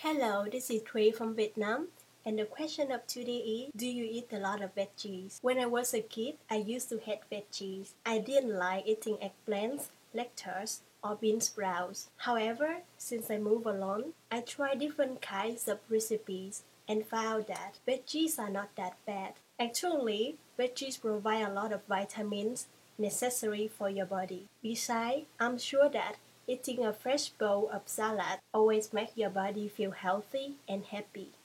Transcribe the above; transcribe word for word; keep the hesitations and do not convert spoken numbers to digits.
Hello, this is Thuy from Vietnam. And the question of today is, do you eat a lot of veggies? When I was a kid, I used to hate veggies. I didn't like eating eggplants, lettuce, or bean sprouts. However, since I moved along, I tried different kinds of recipes and found that veggies are not that bad. Actually, veggies provide a lot of vitamins necessary for your body. Besides, I'm sure that eating a fresh bowl of salad always makes your body feel healthy and happy.